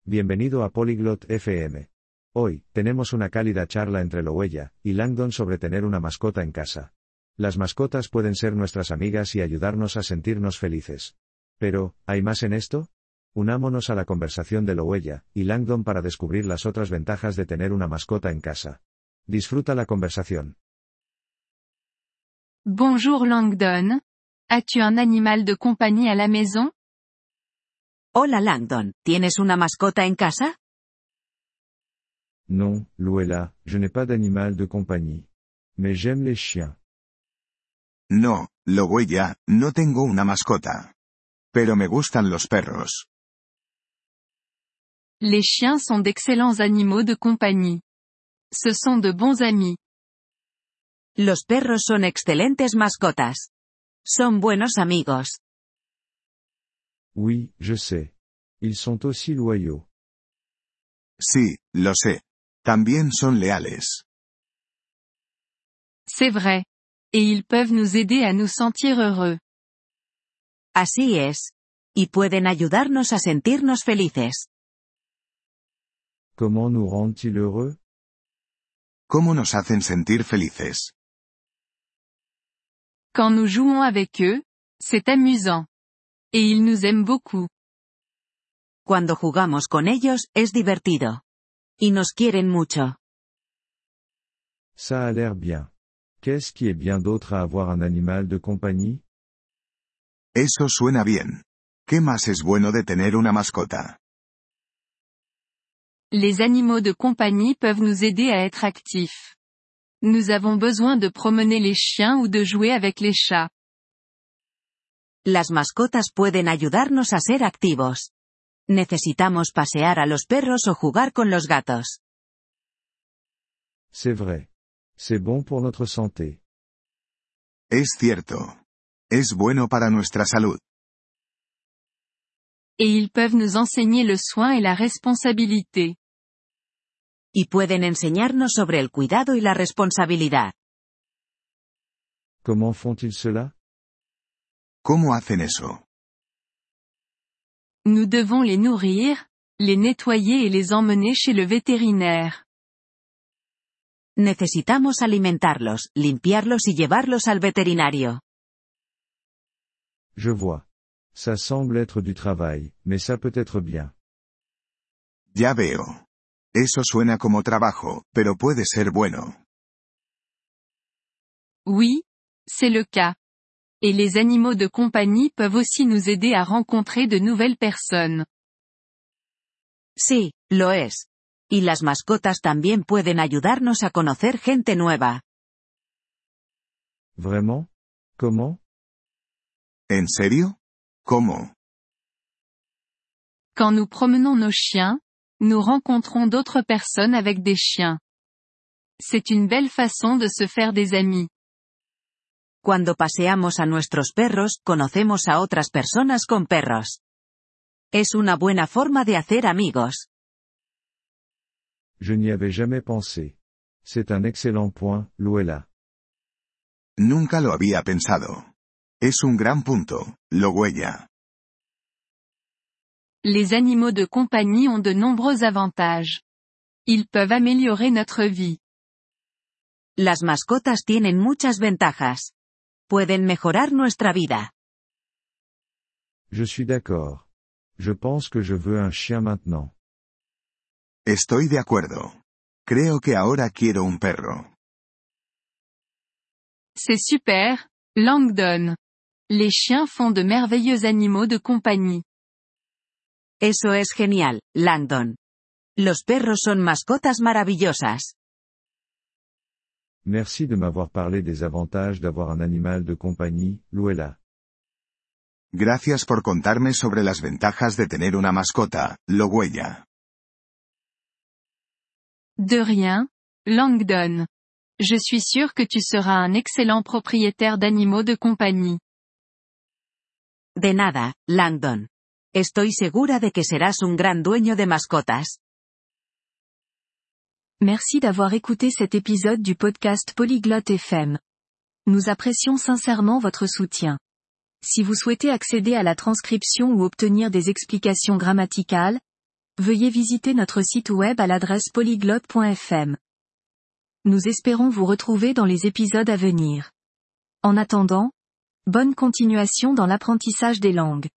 Bienvenido a Polyglot FM. Hoy, tenemos una cálida charla entre Louella y Langdon sobre tener una mascota en casa. Las mascotas pueden ser nuestras amigas y ayudarnos a sentirnos felices. Pero, ¿hay más en esto? Unámonos a la conversación de Louella y Langdon para descubrir las otras ventajas de tener una mascota en casa. Disfruta la conversación. Bonjour Langdon. As-tu un animal de compagnie à la maison? Hola Langdon, ¿tienes una mascota en casa? Non, Louella, je n'ai pas d'animal de compagnie. Mais j'aime les chiens. No, Louella, no tengo una mascota. Pero me gustan los perros. Les chiens sont d'excellents animaux de compagnie. Ce sont de bons amis. Los perros son excelentes mascotas. Son buenos amigos. Oui, je sais. Ils sont aussi loyaux. Sí, lo sé. También son leales. C'est vrai. Et ils peuvent nous aider à nous sentir heureux. Así es. Y pueden ayudarnos a sentirnos felices. Comment nous rendent-ils heureux? ¿Cómo nos hacen sentir felices? Quand nous jouons avec eux, c'est amusant. Et ils nous aiment beaucoup. Cuando jugamos con ellos, es divertido. Y nos quieren mucho. Ça a l'air bien. Qu'est-ce qui est bien d'autre à avoir un animal de compagnie? Eso suena bien. ¿Qué más es bueno de tener una mascota? Les animaux de compagnie peuvent nous aider à être actifs. Nous avons besoin de promener les chiens ou de jouer avec les chats. Las mascotas pueden ayudarnos a ser activos. Necesitamos pasear a los perros o jugar con los gatos. C'est vrai. C'est bon pour notre santé. Es cierto. Es bueno para nuestra salud. Et ils peuvent nous enseigner le soin et la responsabilité. Y pueden enseñarnos sobre el cuidado y la responsabilidad. Comment font-ils cela? ¿Cómo hacen eso? Nous devons les nourrir, les nettoyer et les emmener chez le vétérinaire. Necesitamos alimentarlos, limpiarlos y llevarlos al veterinario. Je vois. Ça semble être du travail, mais ça peut être bien. Ya veo. Eso suena como trabajo, pero puede ser bueno. Oui, c'est le cas. Et les animaux de compagnie peuvent aussi nous aider à rencontrer de nouvelles personnes. Sí, lo es. Y las mascotas también pueden ayudarnos a conocer gente nueva. Vraiment? Comment? ¿En serio? ¿Cómo? Quand nous promenons nos chiens, nous rencontrons d'autres personnes avec des chiens. C'est une belle façon de se faire des amis. Cuando paseamos a nuestros perros, conocemos a otras personas con perros. Es una buena forma de hacer amigos. Je n'y avais jamais pensé. C'est un excellent point, Louella. Nunca lo había pensado. Es un gran punto, Louella. Les animaux de compagnie ont de nombreux avantages. Ils peuvent améliorer notre vie. Las mascotas tienen muchas ventajas. Pueden mejorar nuestra vida. Je suis d'accord. Je pense que je veux un chien maintenant. Estoy de acuerdo. Creo que ahora quiero un perro. C'est super, Langdon. Les chiens font de merveilleux animaux de compagnie. Eso es genial, Langdon. Los perros son mascotas maravillosas. Merci de m'avoir parlé des avantages d'avoir un animal de compagnie, Louella. Gracias por contarme sobre las ventajas de tener una mascota, Louella. De rien, Langdon. Je suis sûr que tu seras un excellent propriétaire d'animaux de compagnie. De nada, Langdon. Estoy segura de que serás un gran dueño de mascotas. Merci d'avoir écouté cet épisode du podcast Polyglotte FM. Nous apprécions sincèrement votre soutien. Si vous souhaitez accéder à la transcription ou obtenir des explications grammaticales, veuillez visiter notre site web à l'adresse polyglotte.fm. Nous espérons vous retrouver dans les épisodes à venir. En attendant, bonne continuation dans l'apprentissage des langues.